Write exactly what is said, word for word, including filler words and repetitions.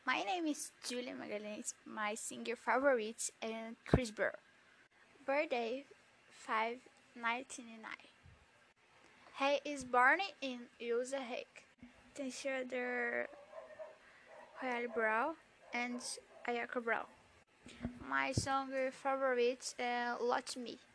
My name is Julia Magalhães. My singer favorite is Chris Brown. Birthday five ninety-nine. He is born in U S A. Consider Royal Brown and Ayaka Brown. My song favorite is Lot Me.